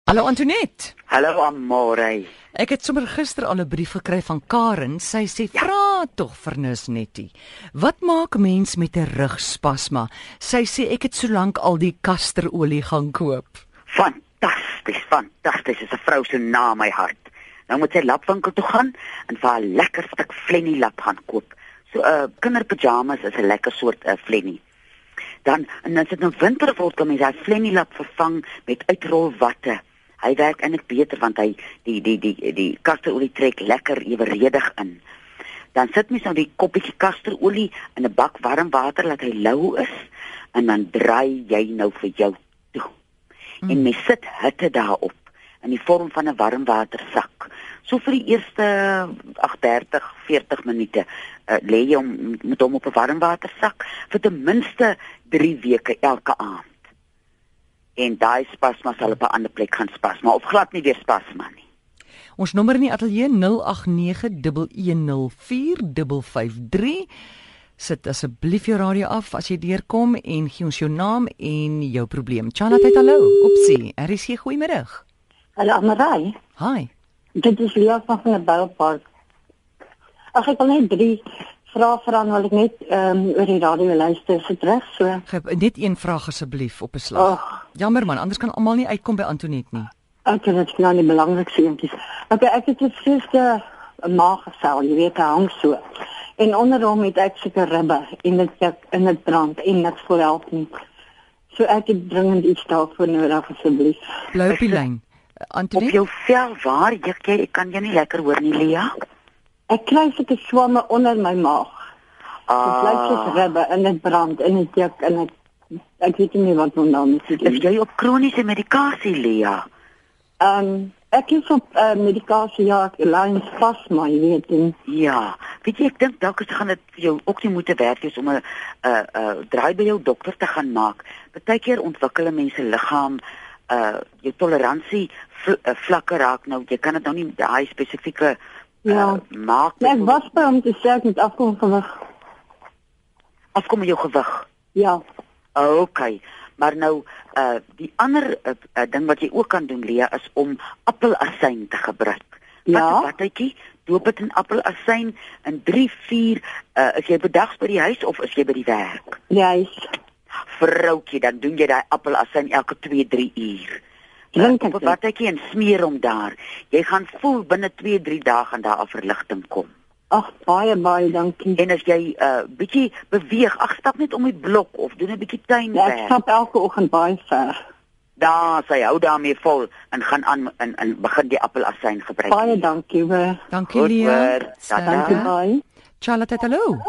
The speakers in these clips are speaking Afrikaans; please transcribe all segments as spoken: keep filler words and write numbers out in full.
Hallo Antoinette. Hallo Amore. Ek het sommer gister al 'n brief gekry van Karen. Sy sê, ja. Vra tog vir Nurse Nettie. Wat maak mens met 'n rugspasma? Sy sê ek het solank al die kasterolie gaan koop. Fantasties, fantasties. Is 'n vrou so na my hart. Nou moet sy lapwinkel toe gaan en vir 'n lekker stuk flennie lap gaan koop. So 'n uh, kinderpyjamas is 'n lekker soort 'n uh, flennie. Dan en as dit nou winter word, kan mens daai flennie lap vervang met uitrolwatte. Hy werk eintlik beter want hy die die die die, die kasterolie trek lekker eweredig in. Dan sit mens nou die koppietjie kasterolie in 'n bak warm water laat hy lou is en dan draai jy nou vir jou toe. Mm. En mens sit hitte daarop in die vorm van 'n warmwatersak. So vir die eerste ag dertig, veertig minute uh, lê jy hom met hom op 'n warmwatersak vir ten minste drie weke elke aand. En daai spasma sal op 'n ander plek gaan spasma of glad nie weer spasma nie. Ons nommer in die ateljee nul agt nege, een nul vier, vyf vyf drie. Sit asseblief jou radio af as jy deurkom en gee ons jou naam en jou probleem. Charlotte, hallo. Opsie. R is hier, goeiemiddag. Hallo Amarai. Hi. Dit is Lia van die Bouwpark. Ag ek wil net drie vrae vra wil ek net ehm um, oor die radio luister se reg so. Ge net een vraag asseblief op 'n slag. Oh. Jammer man, anders kan almal nie uitkom by Antoinette nie. Ek dink dit is nou die belangrikste eentjies. Okay, ek het 'n vreesde maaggesel, jy weet, hy hang so. En onder hom het ek seker ribbe en dit ek in dit brand en niks voor help nie. So ek het dringend iets daarvoor nodig asseblief. Bly op die lyn. Antoinette, op jou vel waar juk jy? Ek kan jou nie lekker hoor nie, Lia. Ek kry seker swamme onder my maag. Ah. Dit lyk soos ribbe en dit brand en dit juk en ek ek weet nie wat om daarmee te doen. Is jy op kroniese medikasie, Lia? Ehm um, ek is op uh, medikasie, ja, ek lyn spasma, jy weet. En, ja, weet jy, ek dink dalk is gaan dit vir jou ook nie moeite werd wees om 'n 'n 'n draai by jou dokter te gaan maak. Partykeer ontwikkel 'n mens se liggaam uh jou toleransie vl uh, vlakke raak nou. Jy kan dit nou nie daai spesifieke uh, ja. maak. Ja, ek was by om te sê ek moet afkom gewig. Afkom met jou gewig. Ja. Okay, maar nou uh die ander uh, uh, ding wat jy ook kan doen, Lia, is om appelasyn te gebruik. Ja. Wat 'n batjie, doop dit in appelasyn in drie, vier uh is jy bedags by die huis of is jy by die werk? Ja, is. Vroutjie, dan doen jy daai appelasyn elke twee, drie uur. Drink op 'n batjie en smeer hom daar. Jy gaan voel binne twee, drie dae gaan daar 'n verligting kom. Ag, baie baie dankie. En as jy 'n uh, bietjie beweeg, ag stap net om die blok of doen 'n bietjie tuinwerk. Ja, ek stap elke oggend baie ver. Daar, sy hou daarmee vol en gaan aan en, en begin die appelasyn gebruik. Baie dankie, we. Dankie Lia. Dankie baie. Charlotte, hallo.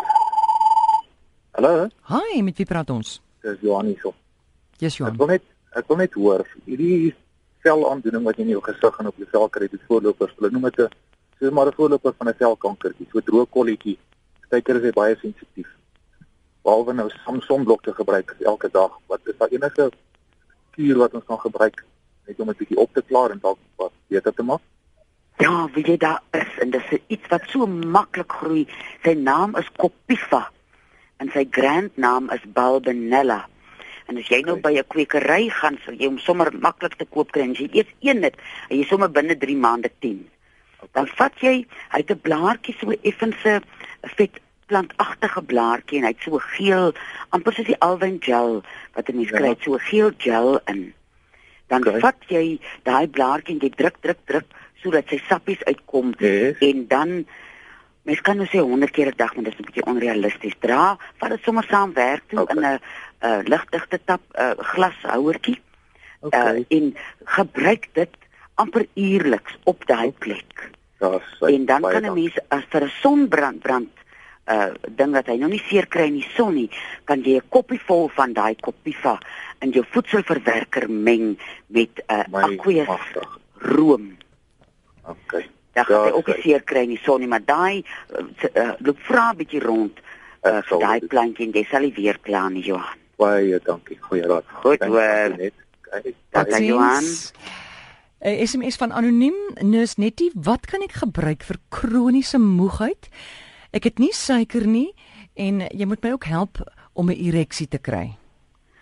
Hallo. Hi, met wie praat ons? Dis Johan hierso. Yes, Johan. Ek wil net ek wil net hoor, hierdie velaandoening wat jy in jou gesig en op jou vel kry, dit voorlopers, hulle noem dit 'n soos maar 'n voorloper van 'n velkankertjie, so 'n droë kolletjie. Partykeer is hy baie sensitief. Behalwe nou Samsonblok te gebruik elke dag, wat is daar enige kuur wat ons kan gebruik net om dit bietjie op te klaar en dalk wat beter te maak? Ja, weet jy, daar is en dis iets wat so maklik groei. Sy naam is Copifa en sy grandnaam is Balbenella. En as jy nou by 'n kwekery gaan, sal jy hom sommer maklik te koop kry. As jy eers een het, en jy sommer binne drie maande tien. Dan vat jy, hy het 'n blaartjie, so 'n effense vet plantagtige blaartjie en hy het so 'n geel, amper soos die alwyn gel wat 'n mens ja. kry, so 'n geel gel in. Dan okay. vat jy daai blaartjie en jy druk druk druk sodat sy sappies uitkom yes. en dan mens kan nou sê honderd keer 'n dag, maar dit is 'n bietjie onrealisties. Dra, vat dit sommer saam werk toe okay. in 'n uh, ligdigte tap uh, glashouertjie. Okay. Uh, en gebruik dit amper uierliks op daai plek. Ja, en dan kan 'n mens as vir 'n sonbrand brand uh ding wat hy nou nie seer kry in die son nie, kan jy 'n koppie vol van daai Copifa in jou voedselverwerker meng met 'n uh, aqueous room. Okay. Dan gaan jy ook nie seer kry in die son nie, maar daai uh, loop vra 'n bietjie rond uh, vir daai plantjie en jy sal nie weer kla nie, Johan. Baie dankie. Goeie raad. Goed hoor. Dankie Johan. 'n S M S van anoniem, Nurse Nettie, wat kan ek gebruik vir kroniese moegheid? Ek het nie suiker nie en jy moet my ook help om 'n ereksie te kry.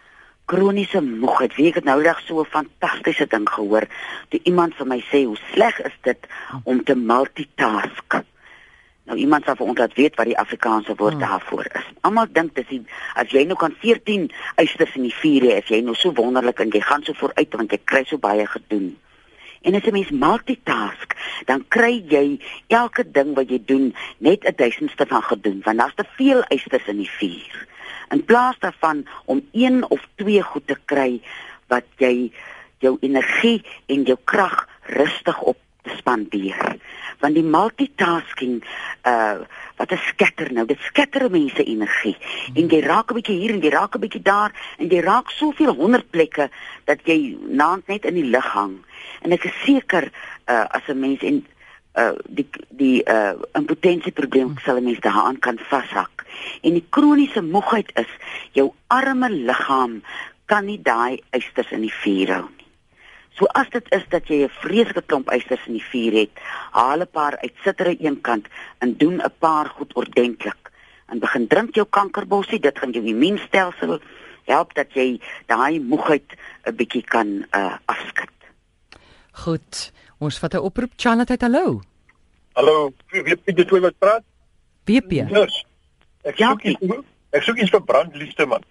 kroniese moegheid. Wie ek het nou dag so 'n fantastiese ding gehoor, toe iemand vir my sê, hoe sleg is dit om te multitask? Nou iemand sal vir ons laat weet wat die Afrikaanse woord hmm. daarvoor is. Almal dink dis die, as jy nou kan veertien eisters in die vuur hê, as jy nou so wonderlik en jy gaan so vooruit want jy kry so baie gedoen. En as 'n mens multitask, dan kry jy elke ding wat jy doen net 'n duisendste van gedoen, want daar's te veel eisters in die vuur. In plaas daarvan om een of twee goed te kry wat jy jou energie en jou krag rustig op te spandeer. Want die multitasking, uh, wat 'n skatter nou, dit skatter mense energie. En jy raak 'n bietjie hier en jy raak 'n bietjie daar en jy raak soveel honderd plekke dat jy naand net in die lug hang. En ek is seker uh, as 'n mens en uh, die die uh, impotensieprobleem sal 'n mens daaraan kan vashak. En die kroniese moegheid is jou arme liggaam kan nie daai eisters in die vuur hou nie. So as dit is dat jy 'n vreeslike klomp eisters in die vuur het, haal 'n paar uit, sit er aan een kant en doen 'n paar goed ordentlik. En begin drink jou kankerbossie, dit gaan jou immuunstelsel help dat jy daai moegheid 'n bietjie kan uh, afskud. Goed, ons vat 'n oproep. Chanat, hallo. Hallo, wie wie dit wat praat? W P. Yes. Ek soek iets, ek soek iets vir brandliefde man.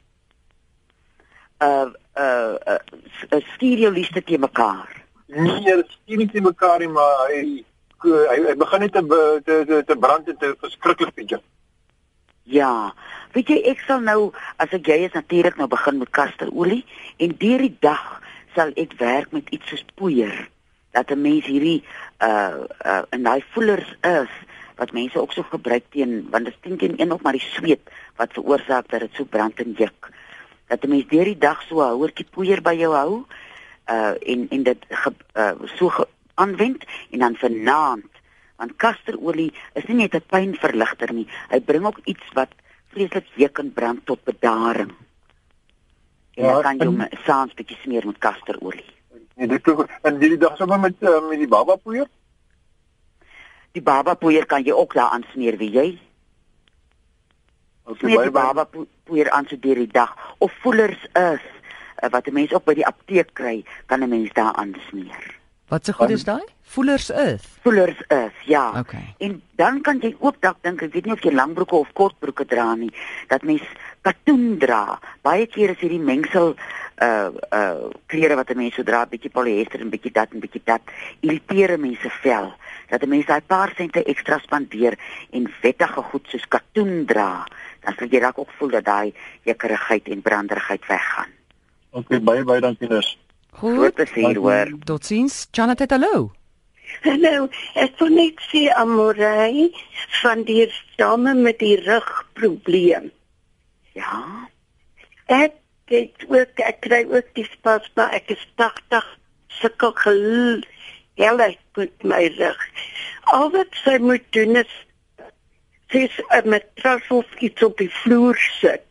Uh uh, uh, uh stuur jou liefde te mekaar. Nee, dit stuur nie te mekaar nie, maar hy hy, hy begin net te te te, te brand en te verskriklik bietjie. Ja, weet jy, ek sal nou, as ek jy is natuurlik nou begin met kasterolie en deur die dag sal ek werk met iets soos poeier, dat 'n mens hierdie uh uh en daai voelers is wat mense ook so gebruik teen, want dit is teen een op maar die sweet wat veroorsaak dat dit so brand en juk. Dat 'n mens deur die dag so 'n houertjie poeier by jou hou uh en en dit ge, uh, so ge, aanwend en dan vanaand, want kasterolie is nie net 'n pynverligter nie, hy bring ook iets wat vreeslik juk en brand tot bedaring. En ja, dan kan jy hom saans bietjie smeer met kasterolie. Nee, dit is en hierdie dag sommer met uh, met die baba poeier? Die baba poeier kan jy ook daar aan smeer, wie jy? Smeer die baba poeier aan so deur die dag, of voelers is, uh, wat 'n mens ook by die apteek kry, kan 'n mens daar aan smeer. Wat se goed is daai? Voelers is. Voelers is, ja. Okay. En dan kan jy ook dalk dink, ek weet nie of jy langbroeke of kortbroeke dra nie, dat mens katoen dra. Baie keer is hierdie mengsel uh uh klere wat 'n mens so dra, bietjie polyester en bietjie dat en bietjie dat, irriteer mense vel. Dat 'n mens daai paar sente ekstra spandeer en wettige goed soos katoen dra, dan sal jy dalk ook voel dat daai jekkerigheid en branderigheid weggaan. Okay, baie baie dankie dus. Goed. Tot hoor. Totsiens. Chanat, hallo. Hallo, ek wil net sê Amorey van die dame met die rugprobleem. Ja. Ek het ook, ek kry ook die spasma, ek is tagtig, sukkel gel, heel met my rug. Al wat sy moet doen is, sy is 'n matras of iets op die vloer sit.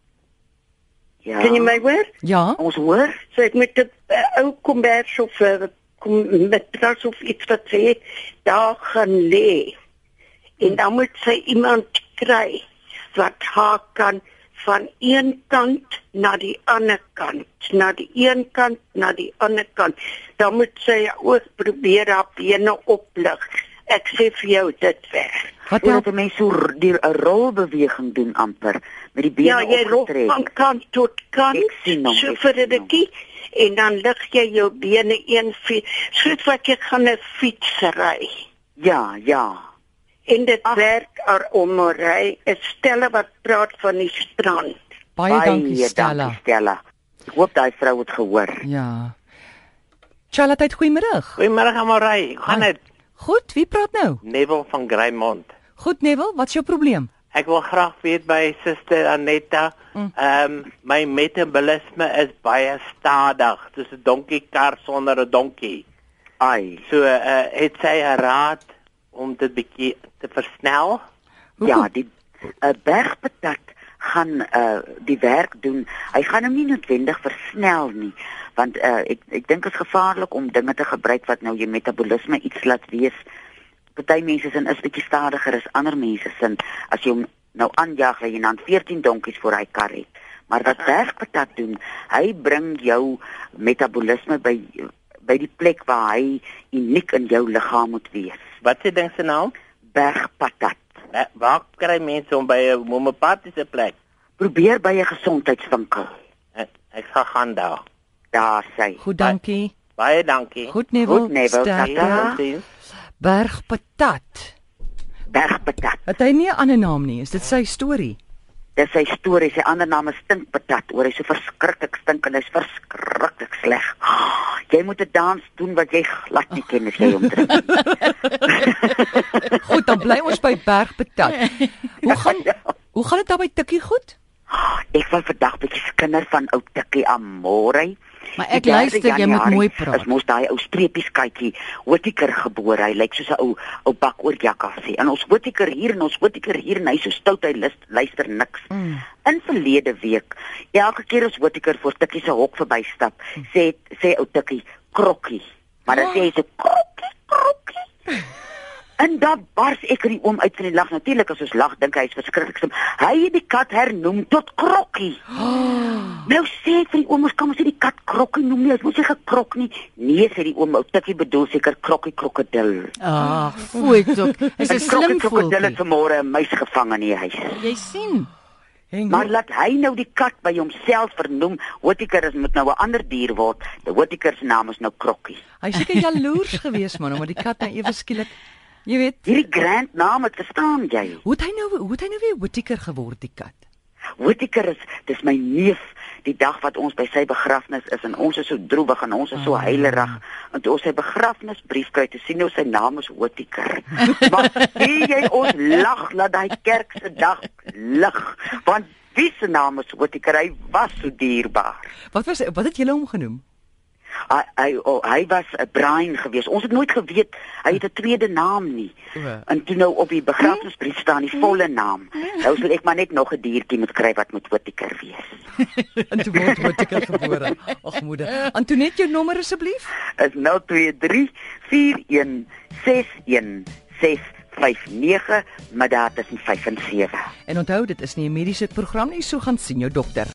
Ja. Kan jy my hoor? Ja. Ons hoor. Sy het met 'n uh, ou kombers of 'n uh, matras of iets wat sy het, daar gaan lê. En dan moet sy iemand kry wat haar kan van een kant na die ander kant, na die een kant na die ander kant. Dan moet sy ook probeer haar bene oplig. Ek sê vir jou dit werk. Wat help 'n mens so die 'n rolbeweging doen amper met die bene ja, jy opgetrek? Ja, van kant tot kant, so vir 'n rukkie en dan lig jy jou bene een fiets, soos wat jy gaan 'n fiets ry. Ja, ja. En dit Ach. werk ar omry, 'n Stella wat praat van die strand. Baie, Baie dankie Stella. Dankie Stella. Ek hoop daai vrou het gehoor. Ja. Charlotte, goeiemôre. Goeiemôre Amorey. Gaan dit? Goed, wie praat nou? Neville van Greymont. Goed Neville, wat is jou probleem? Ek wil graag weet by Suster Anetta, ehm mm. um, my metabolisme is baie stadig. Dis 'n donkiekar sonder 'n donkie. Ai. So uh, het sy 'n raad om dit bietjie te versnel? Hoekom? Ja, die uh, bergpatat gaan uh, die werk doen. Hy gaan hom nie noodwendig versnel nie, want uh, ek ek dink dit is gevaarlik om dinge te gebruik wat nou jou metabolisme iets laat wees. Party mense sin is bietjie stadiger as ander mense sin. As jy hom nou aanjaag, jy dan veertien donkies voor hy kar het. Maar wat bergpatat doen, hy bring jou metabolisme by by die plek waar hy uniek in jou liggaam moet wees. Wat se ding se naam? Bergpatat. Eh, waar kry mense om by 'n homeopatiese plek? Probeer by 'n gesondheidswinkel. Ek, ek gaan gaan daar. Daar sê. Goed, dankie. Baie dankie. Goed, Neville. Goed, Neville, Sterkte. tata. Bergpatat. Bergpatat. Het hy nie 'n ander naam nie? Is dit sy storie? Dis sy storie, sy ander naam is stinkpatat. Oor hy so verskriklik stink en hy's verskriklik sleg. Oh, jy moet 'n dans doen wat jy glad nie ken as jy hom drink. Goed, dan bly ons by bergpatat. Hoe gaan Hoe gaan dit daar by Tikkie goed? Oh, ek wil vandag bietjie skinder van ou Tikkie Amore. Maar ek luister, jy moet mooi praat. Ons moes daai ou streepies kykie, Whittaker gebore. Hy lyk soos 'n ou ou bak oor jakkasie. En ons Whittaker hier en ons Whittaker hier en hy so stout hy lust, luister niks. Mm. In verlede week, elke keer as Whittaker voor Tikkie se hok verbystap, mm. sê sê ou Tikkie krokkie. Maar dan oh. sê hy so krokkie, krokkie. En dan bars ek in die oom uit van die lag. Natuurlik as ons lag, dink hy is verskriklik slim. Hy het die kat hernoem tot Krokkie. Oh. Nou sê ek vir die oom, ons kan mos nie die kat Krokkie noem nie. Ons moet sê gekrok nie. Nee, sê die oom, ou Tikkie bedoel seker Krokkie krokodil. Ah, fooi tog. Is 'n slim krokodil het vanmôre 'n muis gevang in die huis. Jy sien. Heng, maar laat hy nou die kat by homself vernoem. Whittaker is moet nou 'n ander dier word. Die Whittaker se naam is nou Krokkie. Hy seker jaloers geweest man, omdat die kat nou ewe skielik jy weet, hierdie grand naam het verstaan jy. Hoe het hy nou hoe het hy nou weer Whittaker geword die kat? Whittaker is dis my neef, die dag wat ons by sy begrafnis is en ons is so droewig en ons is so heilerig en toe ons sy begrafnisbrief kry te sien hoe sy naam is Whittaker. Maar wie jy ons lag laat daai kerk se dag lig, want wie se naam is Whittaker? Hy was so dierbaar. Wat was wat het julle hom genoem? Hy hy, oh, hy was 'n Brian geweest. Ons het nooit geweet hy het 'n tweede naam nie. Ja. En toe nou op die begrafnisbrief staan die volle naam. Nou sal ek maar net nog 'n diertjie moet kry wat moet Whittaker wees. En toe word Whittaker gebore. Ag moeder. Antoinette, jou nommer asseblief? Is nul twee drie vier een ses een ses vyf nege, maar daar tussen vyf en sewe. En onthou, dit is nie 'n mediese program nie, so gaan sien jou dokter.